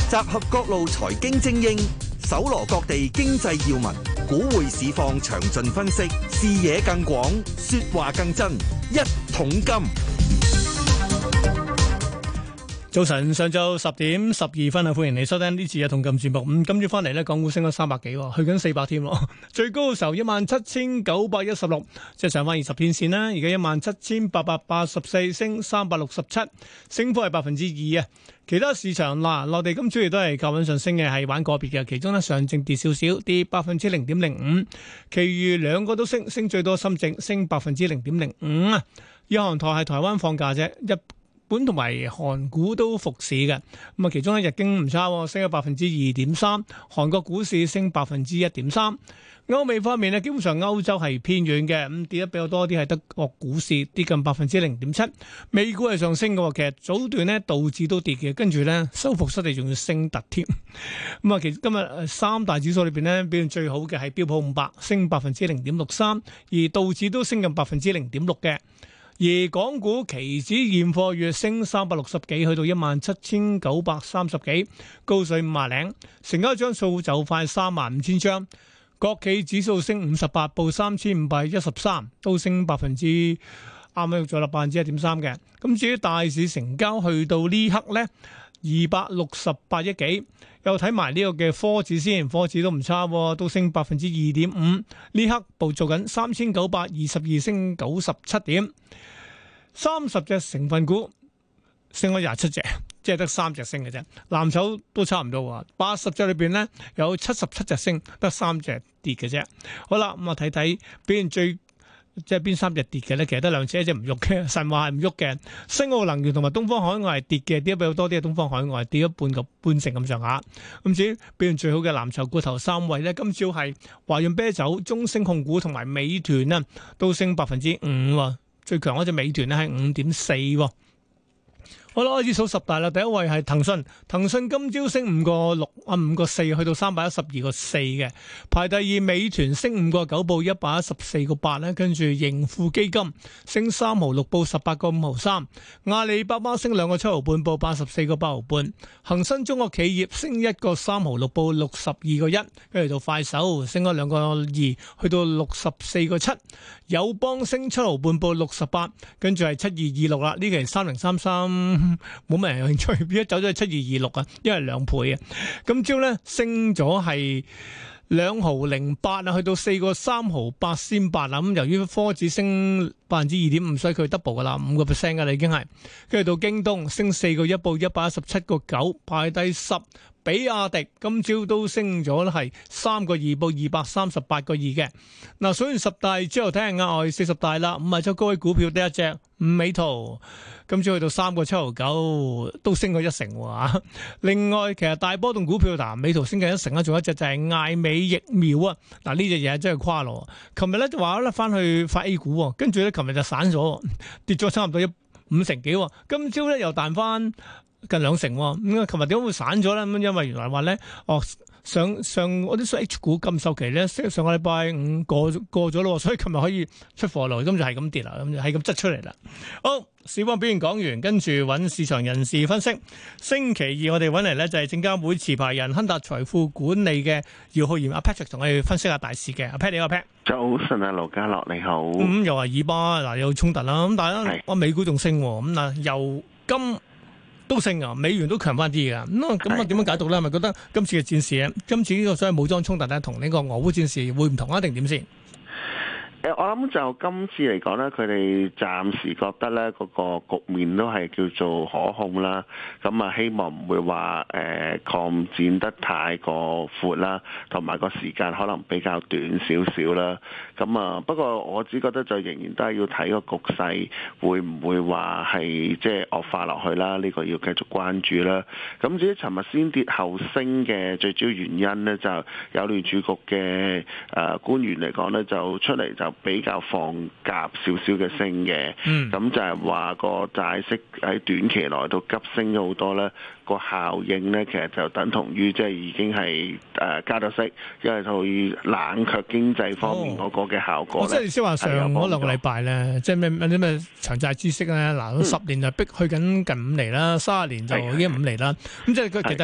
集合各路財經精英，搜羅各地經濟要聞，股匯市況詳盡分析，視野更廣，說話更真。一桶金。 早晨，上晝10:12啊！歡迎你收聽呢次嘅《一桶金》節目。今朝翻嚟咧，港股升咗300幾，去緊400添咯。最高嘅時候17,916，即係上翻20天線啦。而家17,884，升367，升幅係2%啊。其他市場嗱，內地今朝亦都係靠穩上升嘅，係玩個別嘅。其中咧，上證跌少少，跌0.05%，其餘兩個都升，升最多深證升0.05%啊。日韓台係台灣放假啫，日本同埋韓股都復市嘅，咁啊，其中咧日經唔差，升咗2.3%，韓國股市升1.3%。歐美方面咧，基本上歐洲係偏軟嘅，咁跌得比較多啲係德國股市跌近0.7%，美股係上升嘅。其實早段咧道指都跌嘅，跟住咧收復失地仲要升突添。咁啊，其實今日三大指數裏邊咧表現最好嘅係標普500，升0.63%，而道指都升近0.6%嘅。而港股期指現貨月升360幾，去到17,930幾，高水50零，成交張數就快35,000張。國企指數升58，報3,513，都升啱啱喐咗啦1.3%嘅。咁至於大市成交去到呢刻呢，268億幾。又睇埋呢個嘅科指先，科指都唔差，都升2.5%。呢刻報做緊3,922，升97點。30隻成分股升咗27隻，即係得3隻升嘅啫。藍籌都差唔多，80隻裏邊咧有77隻升，得3隻跌嘅啫。好啦，咁啊睇睇表現最即係邊3隻跌嘅咧，其實得2隻，一隻唔喐嘅，神話係唔喐嘅。新奧能源同埋東方海外係跌嘅，跌得比較多啲。東方海外跌咗半成咁上下。咁至於表現最好嘅藍籌股頭3位咧，今朝係華潤啤酒、中升控股同埋美團啊，都升5%。最強嗰隻美團咧係5.4%。好啦，開始數十大啦。第一位係騰訊，騰訊今朝升5.4%，去到312.4嘅。排第二，美團升5.9%，報114.8咧。跟住盈富基金升3毫6，報18.5毫3。阿里巴巴升2.7毫半，報84.8毫半。恒生中國企業升1.3毫6，報62.1。跟住到快手升咗2.2，去到64.7。友邦升7毫半，報68。跟住係7226啦，呢期3033。冇乜人有興趣，變咗走咗去7226啊，因為2倍啊。今朝咧升咗係2毫08啊，去到4.3毫8仙8啦。咁由於科指升2.5%，所以佢 double 噶啦，5% 噶啦已經係。跟住到京東升4.1，報117.9，排第10。比亞迪今朝都升咗係3.2，報238.2嘅。嗱，數完十大之後，睇下額外40大啦。5周高位股票得一隻美圖，今朝去到3.795，都升咗1成喎。另外，其實大波動股票嗱，美圖升緊1成啦，仲有一隻就係艾美疫苗啊。嗱，呢隻嘢真係誇咯。琴日咧就話咧翻去發 A 股，跟住咧琴日就散咗，跌咗差唔多5成幾。今朝咧又彈翻近2成，咁琴日點解會散咗咧？咁因為原來話咧，上嗰啲 H 股禁售期咧，上個禮拜5過咗咯，所以琴日可以出貨咯，咁就係咁跌啦，咁就係咁執出嚟啦。好，市況表現講完，跟住揾市場人士分析。星期二我哋揾嚟咧就係證監會持牌人亨達財富管理嘅姚浩然阿 Patrick 同我哋分析下大市嘅。阿 Pat 你好，阿 Pat。 早晨啊，盧家樂你好。 又話以巴嗱有衝突啦，咁但係咧美股仲升，咁嗱油金都升啊，美元都強翻啲噶，咁啊點樣解讀咧？係咪覺得今次嘅戰事咧，今次呢個所謂武裝衝突咧，同呢個俄烏戰事會唔同啊？定點先？ 我諗就今次嚟講咧，佢哋暫時覺得咧嗰個局面都係叫做可控啦。咁啊，希望唔會話擴展得太過闊啦，同埋個時間可能比較短少少啦。咁啊，不過我只覺得就仍然都係要睇個局勢會唔會話係即係惡化落去啦。呢個要繼續關注啦。咁至於尋日先跌後升嘅最主要原因咧，就有聯儲局嘅官員嚟講咧，就出嚟就比較放鴿少少嘅升嘅，咁就係話個債息喺短期內都急升咗好多咧。個效應咧，其實就等同於即係已經係加咗息，因為佢冷卻經濟方面嗰個嘅效果。 即係意思話上嗰2個禮拜咧，即係咩長債孳息咧，嗱10年就逼去緊近5厘啦，30年就已經5厘啦。咁即係佢其實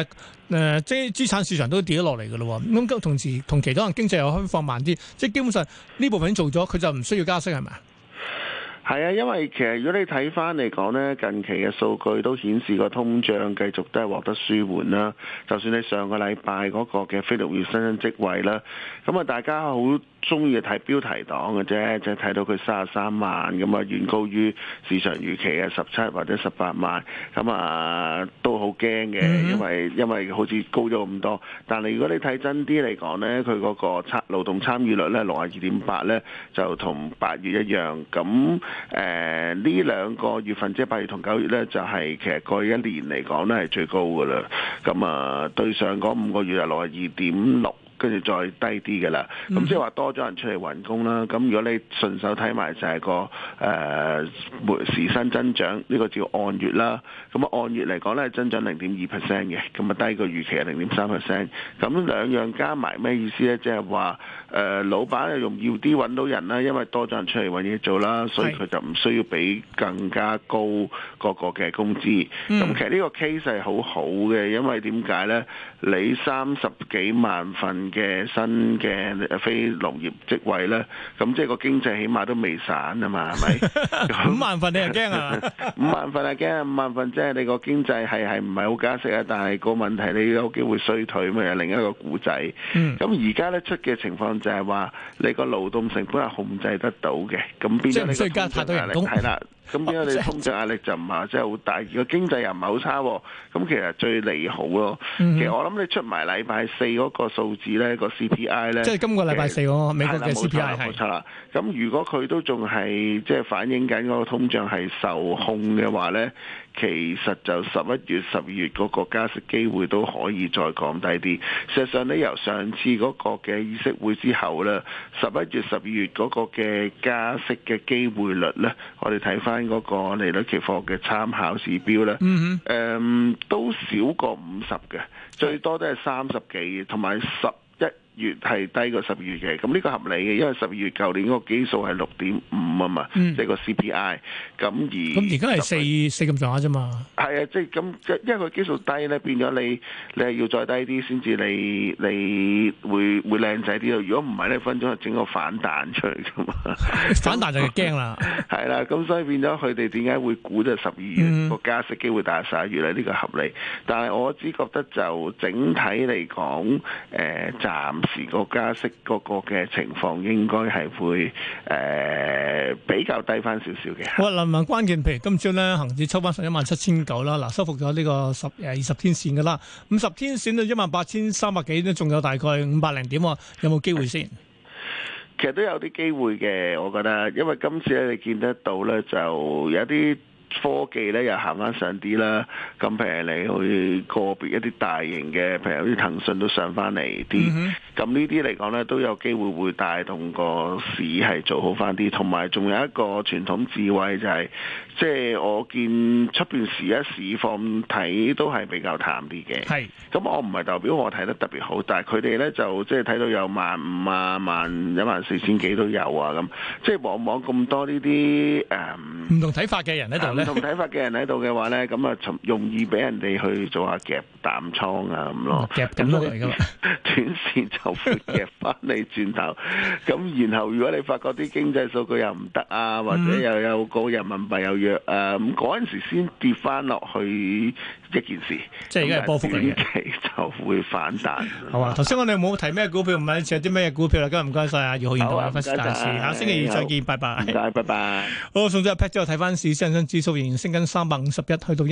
即係資產市場都跌咗落嚟嘅咯。咁同時同期可能經濟又開放慢啲，即係基本上呢部分已經做咗，佢就唔需要加息係咪啊？ 係啊，因為其實如果你睇翻嚟講呢，近期嘅數據都顯示個通脹繼續都係獲得舒緩啦。就算你上個禮拜嗰個嘅非農業新增職位啦，咁啊大家好中意睇標題黨嘅啫，即係睇到佢33萬咁啊，遠高於市場預期嘅17或者18萬，咁啊都好驚嘅，因為好似高咗咁多。但係如果你睇真啲嚟講呢，佢嗰個勞動參與率呢62.8呢，就同8月一樣。咁呢兩個月份即係8月同9月呢，就係其實過去一年嚟講呢係最高㗎啦。咁啊對上嗰5個月係62.6。跟住再低啲嘅啦，咁即係話多咗人出嚟揾工啦。咁如果你順手睇埋就係個時薪增長，呢個叫按月啦。咁啊按月嚟講咧，增長0.2% 嘅，咁啊低過預期係0.3%。咁兩樣加埋咩意思咧？即係話老闆又容易啲揾到人啦，因為多咗人出嚟揾嘢做啦，所以佢就唔需要俾更加高嗰個嘅工資。咁其實呢個 case 係好好嘅，因為點解咧？你30幾萬份嘅新嘅非農業職位咧，咁即係個經濟起碼都未散啊嘛，係咪 ？5萬份你又驚啊 ？5萬份係驚，5萬份即係你個經濟係唔係好加息啊？但係個問題你有機會衰退，咪係另一個故仔。咁而家咧出嘅情況就係話，你個勞動成本係控制得到嘅，咁變咗你個通脹壓力係啦。咁點解你通脹壓力就唔係真係好大？如果經濟又唔係好差，咁其實最利好咯。其實我諗你出埋禮拜四嗰個數字咧，個 CPI 咧， 即係今個禮拜四嗰個美國嘅 CPI 係。冇錯啦。 咁如果佢都仲係即係反映緊嗰個通脹係受控嘅話咧，其實就11月、12月嗰個加息機會都可以再降低啲。事實上你由上次嗰個嘅議息會之後咧，11月、12月嗰個嘅加息嘅機會率咧，我哋睇翻嗰個利率期貨嘅參考指標咧，都少過50嘅，最多都係30幾，同埋11月係低過12月嘅，咁呢個合理嘅，因為12月舊年嗰個基數係6.5啊嘛，即係個 CPI。咁而家係四咁上下啫嘛。 係啊，即係咁，因為佢基數低咧，變咗你係要再低啲先至你會靚仔啲咯。如果唔係咧，分鐘係整個反彈出嚟噶嘛。 反彈就係驚啦。 係啦，咁所以變咗佢哋點解會估就12月個加息機會大過11月咧？呢個合理。但係我只覺得就整體嚟講，暫時個加息嗰個嘅情況應該係會比較低翻少少嘅。 哇！林文關鍵，譬如今朝咧，恒指抽翻117,900啦，嗱，收復咗呢個20天線噶啦，50天線到18,300幾都仲有大概500零點喎，有冇機會先？ 其實都有啲機會嘅，我覺得，因為今次咧你見得到咧，就有啲科技咧又行翻上啲啦，咁譬如你去個別一啲大型嘅，譬如好似騰訊都上翻嚟啲，咁呢啲嚟講咧都有機會會帶動個市係做好翻啲，同埋仲有一個傳統智慧就係，即係我見出邊時一市況睇都係比較淡啲嘅。係，咁我唔係代表我睇得特別好，但係佢哋咧就即係睇到有15,000啊、14,000幾都有啊，咁即係往往咁多呢啲唔同睇法嘅人喺度咧。 唔同睇法嘅人喺度嘅話咧，咁啊容易俾人哋去做下夾淡倉啊咁咯， 夾咁多嚟㗎嘛， 短線就會夾翻你轉頭。咁然後如果你發覺啲經濟數據又唔得啊，或者又有個人民幣又弱啊，咁嗰陣時先跌翻落去一件事。 即係而家係波幅嚟嘅， 短期就會反彈。 好啊，頭先我哋冇提咩股票，唔係似有啲咩股票啦。今日唔該曬啊，姚浩然同我分析大市。下星期二再見，拜拜。 唔該，拜拜。 好，送咗一 pat 之後睇翻市，恒生指數仍然升緊351，去到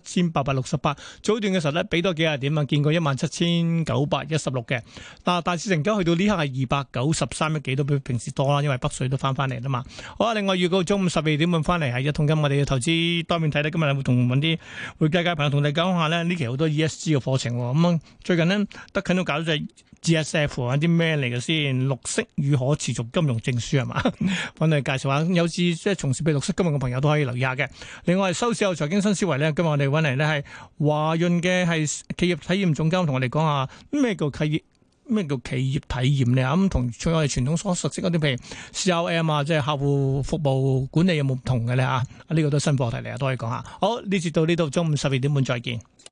17,868。早段嘅時候咧，俾多幾廿點啊，見過17,916嘅。嗱，大市成交去到呢刻係293億幾，都比平時多啦，因為北水都翻嚟啦嘛。好啊，另外預告中午12點半翻嚟係一桶金，我哋嘅投資多面睇咧。今日會同揾啲會計界朋友同你講下咧，呢期好多 ESG 嘅課程。咁最近呢，德勤都搞咗隻 GSF 係啲咩嚟嘅先？綠色與可持續金融證書係嘛？揾你介紹下，有志即係從事綠色金融嘅朋友都可以留意下嘅。另外收市後財經新思維咧，今日我哋揾嚟咧係華潤嘅係企業體驗總監，同我哋講下咩叫企業體驗咧？咁同我哋傳統所熟悉嗰啲，譬如 CRM 啊，即係客戶服務管理有冇唔同嘅咧？呢個都新課題嚟啊，都可以講下。好，呢節到呢度，中午12點半再見。